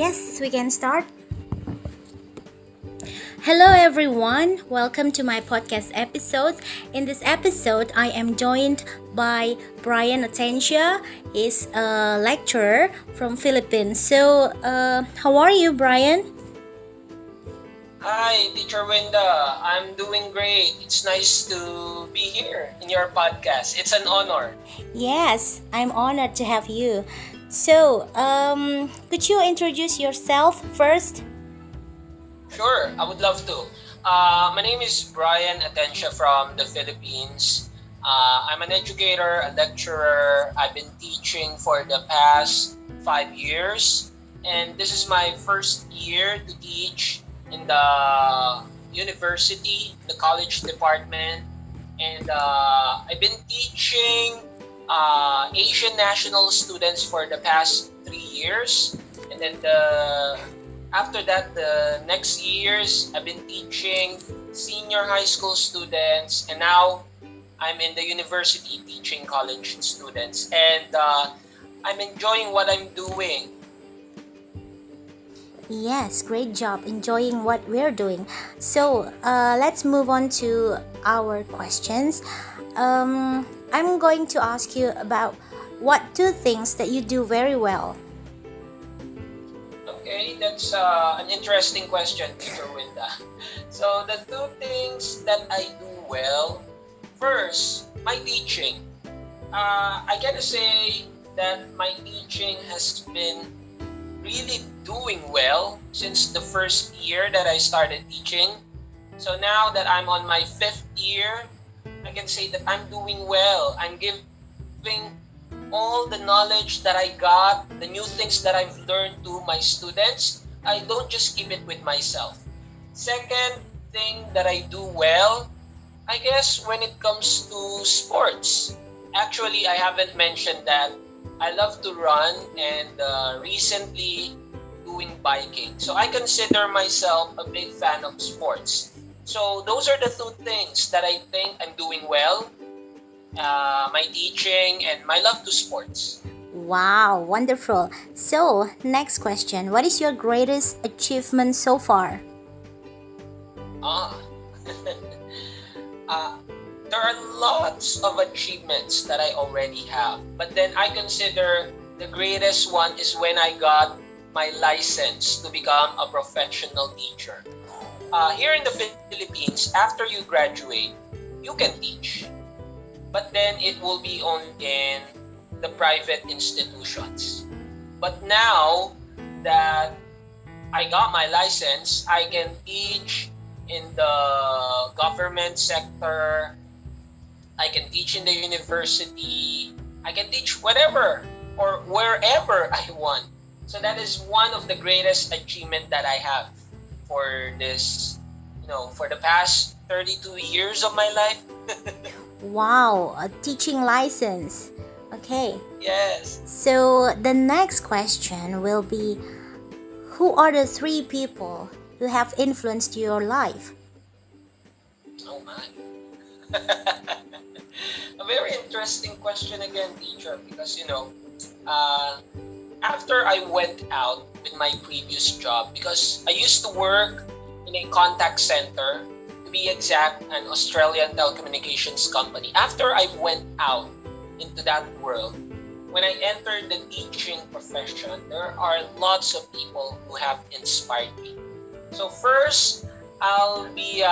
Yes, we can start. Hello, everyone. Welcome to my podcast episodes. In this episode, I am joined by Brian Atensia. He's a lecturer from Philippines. So, how are you, Brian? Hi, Teacher Winda. I'm doing great. It's nice to be here in your podcast. It's an honor. Yes, I'm honored to have you. So, could you introduce yourself first? Sure, I would love to. My name is Brian Atencia from the Philippines. I'm an educator, a lecturer. I've been teaching for the past 5 years, and this is my first year to teach in the university, the college department, and I've been teaching Asian national students for the past 3 years, and then after that, the next years, I've been teaching senior high school students, and now I'm in the university teaching college students, and I'm enjoying what I'm doing. Yes, great job enjoying what we're doing. So, let's move on to our questions. I'm going to ask you about what two things that you do very well. Okay, that's an interesting question, Teacher Winda. So, the two things that I do well, first, my teaching. I gotta say that my teaching has been really doing well since the first year that I started teaching. So now that I'm on my fifth year, I can say that I'm doing well. I'm giving all the knowledge that I got, the new things that I've learned to my students. I don't just keep it with myself. Second thing that I do well, I guess when it comes to sports. Actually, I haven't mentioned that. I love to run and recently doing biking. So I consider myself a big fan of sports. So those are the two things that I think I'm doing well. My teaching and my love to sports. Wow, wonderful. So, next question. What is your greatest achievement so far? Ah, uh, there are lots of achievements that I already have. But then I consider the greatest one is when I got my license to become a professional teacher. Here in the Philippines, after you graduate, you can teach. But then it will be on in the private institutions. But now that I got my license, I can teach in the government sector. I can teach in the university. I can teach whatever or wherever I want. So that is one of the greatest achievement that I have for this, for the past 32 years of my life. Wow, a teaching license. Okay. Yes. So, the next question will be, who are the three people who have influenced your life? Oh my. A very interesting question again, teacher, because after I went out with my previous job, because I used to work in a contact center, to be exact, an Australian telecommunications company. After I went out into that world, when I entered the teaching profession, there are lots of people who have inspired me. So first, I'll be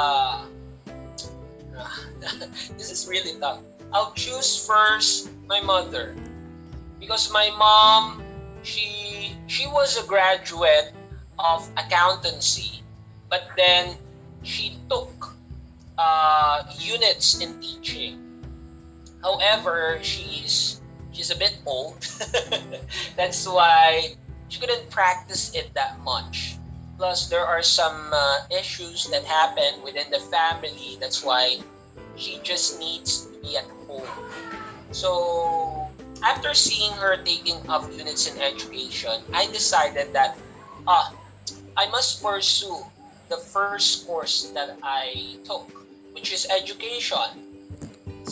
this is really tough. I'll choose first my mother, because my mom, she was a graduate of accountancy, but then she took units in teaching. However, she's a bit old. That's why she couldn't practice it that much. Plus, there are some issues that happen within the family. That's why she just needs to be at home. So, after seeing her taking up units in education, I decided that I must pursue the first course that I took, which is education.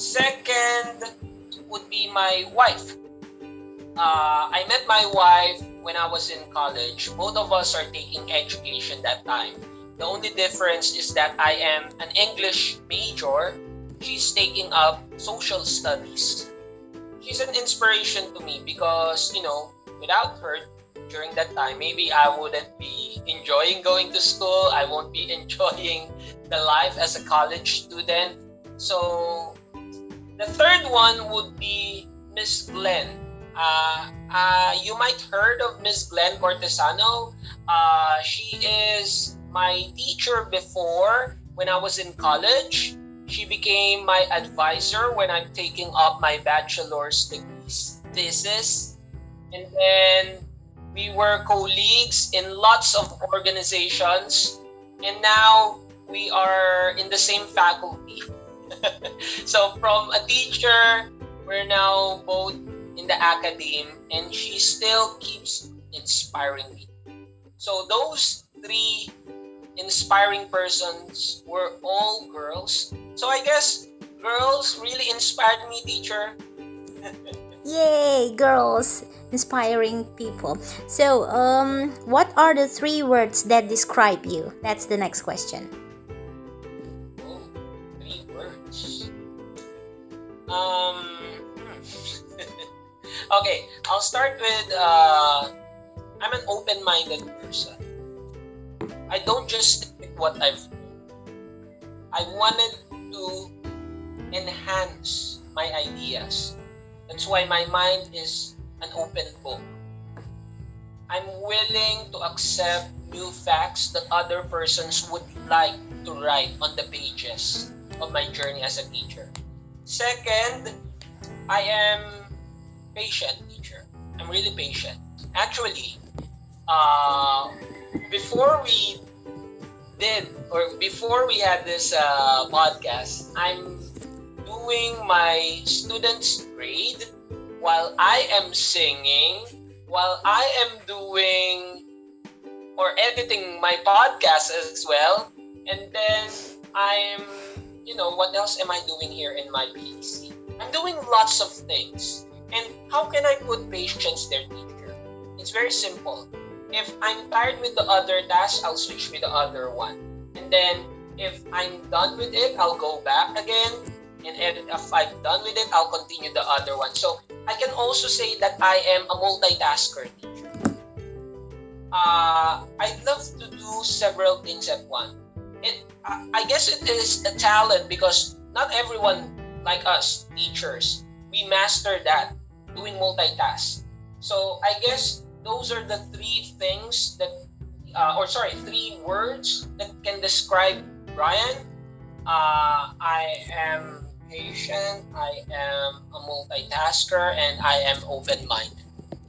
Second would be my wife. I met my wife when I was in college. Both of us are taking education that time. The only difference is that I am an English major. She's taking up social studies. She's an inspiration to me because, without her during that time, maybe I wouldn't be enjoying going to school. I won't be enjoying the life as a college student. So the third one would be Miss Glenn. You might heard of Miss Glenn Cortesano. She is my teacher before when I was in college. She became my advisor when I'm taking up my bachelor's degree thesis. And then we were colleagues in lots of organizations. And now we are in the same faculty. So from a teacher, we're now both in the academe, and she still keeps inspiring me. So those three inspiring persons were all girls. So I guess girls really inspired me, teacher. Yay, girls, inspiring people. So, what are the 3 words that describe you? That's the next question. Oh, 3 words. Okay, I'll start with I'm an open-minded person. I don't just stick with what I've known. I wanted to enhance my ideas. That's why my mind is an open book. I'm willing to accept new facts that other persons would like to write on the pages of my journey as a teacher. Second, I am patient, teacher. I'm really patient. Actually, before we had this podcast, I'm doing my students' grade while I am singing, while I am doing or editing my podcast as well. And then I'm, what else am I doing here in my PC? I'm doing lots of things. And how can I put patience there, teacher? It's very simple. If I'm tired with the other task, I'll switch with the other one. And then if I'm done with it, I'll go back again. And if I'm done with it, I'll continue the other one. So I can also say that I am a multitasker, teacher. I love to do several things at once. I guess it is a talent because not everyone like us, teachers, we master that, doing multitask. So I guess those are the 3 things that, 3 words that can describe Brian. I am patient, I am a multitasker, and I am open-minded.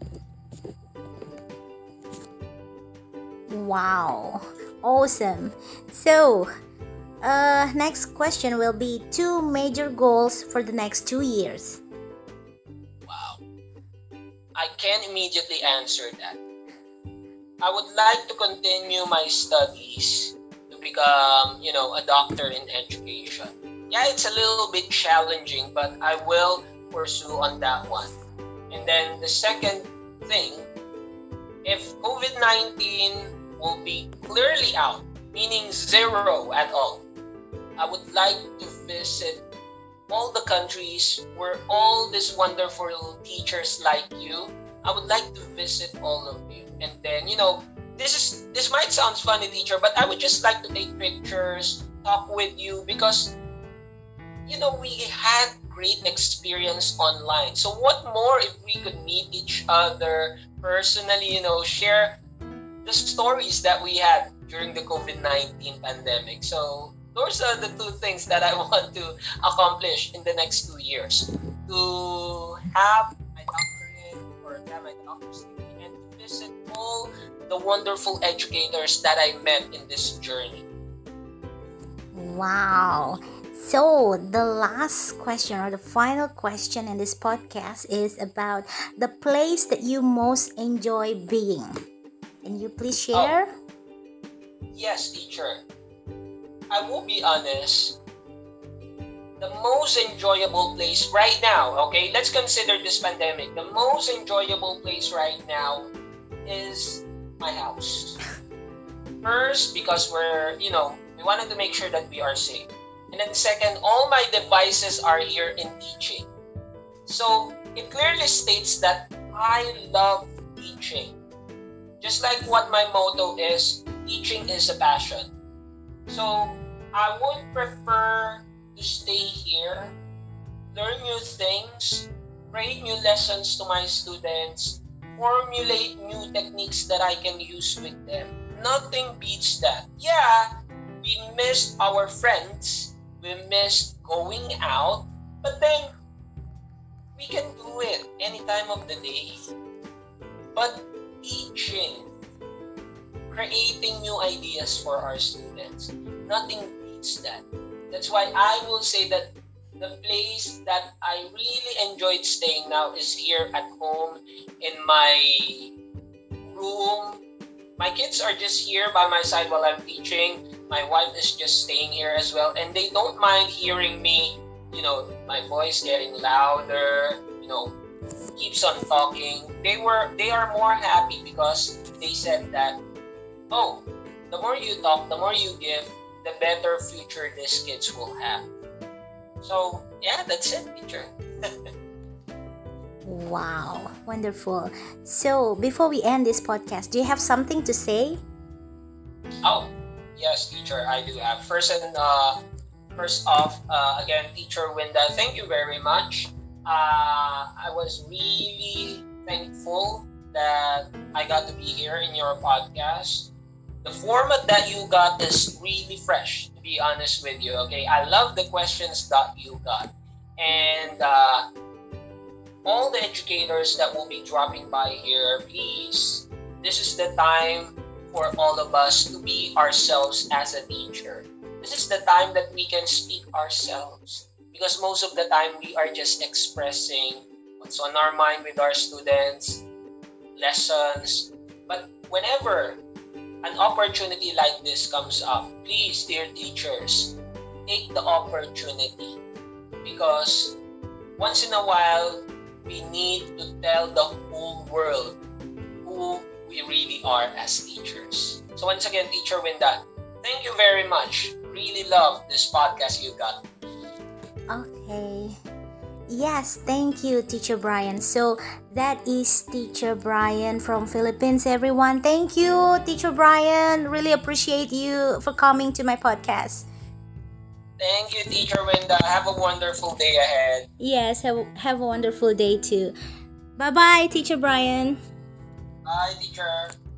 Wow, awesome. So, next question will be 2 major goals for the next 2 years. Wow. I can't immediately answer that. I would like to continue my studies to become, a doctor in education. Yeah, it's a little bit challenging, but I will pursue on that one. And then the second thing, if COVID-19 will be clearly out, meaning 0 at all, I would like to visit all the countries where all these wonderful teachers like you, I would like to visit all of you. And then, this might sound funny, teacher, but I would just like to take pictures, talk with you, because, we had great experience online. So what more if we could meet each other personally, share the stories that we had during the COVID-19 pandemic. So those are the 2 things that I want to accomplish in the next 2 years. To have my doctorate or to have my doctor's degree and to visit all the wonderful educators that I met in this journey. Wow. So the last question or the final question in this podcast is about the place that you most enjoy being. Can you please share? Yes, teacher. I will be honest. The most enjoyable place right now, okay, let's consider this pandemic. The most enjoyable place right now is my house. First, because we wanted to make sure that we are safe. And then second, all my devices are here in teaching. So it clearly states that I love teaching. Just like what my motto is, teaching is a passion. So I would prefer to stay here, learn new things, create new lessons to my students, formulate new techniques that I can use with them. Nothing beats that. Yeah, we missed our friends, we missed going out, but then we can do it any time of the day. But teaching, creating new ideas for our students, nothing beats that. That's why I will say that the place that I really enjoyed staying now is here at home in my room. My kids are just here by my side while I'm teaching. My wife is just staying here as well, and they don't mind hearing me, my voice getting louder, keeps on talking. They are more happy because they said that, oh, the more you talk, the more you give, the better future these kids will have. So yeah, that's it, teacher. Wow, wonderful. So before we end this podcast, do you have something to say? Oh, yes, teacher, I do have. First off, again, teacher Winda, thank you very much. I was really thankful that I got to be here in your podcast. The format that you got is really fresh, to be honest with you, okay? I love the questions that you got. And all the educators that will be dropping by here, please, this is the time for all of us to be ourselves as a teacher. This is the time that we can speak ourselves. Because most of the time, we are just expressing what's on our mind with our students, lessons. But whenever an opportunity like this comes up, please, dear teachers, take the opportunity. Because once in a while, we need to tell the whole world who we really are as teachers. So once again, Teacher Winda, thank you very much. Really love this podcast you got. Okay. Yes, thank you, Teacher Brian. So that is Teacher Brian from Philippines, everyone. Thank you, Teacher Brian. Really appreciate you for coming to my podcast. Thank you, Teacher Winda. Have a wonderful day ahead. Yes, have a wonderful day too. Bye-bye, Teacher Brian. Bye, teacher.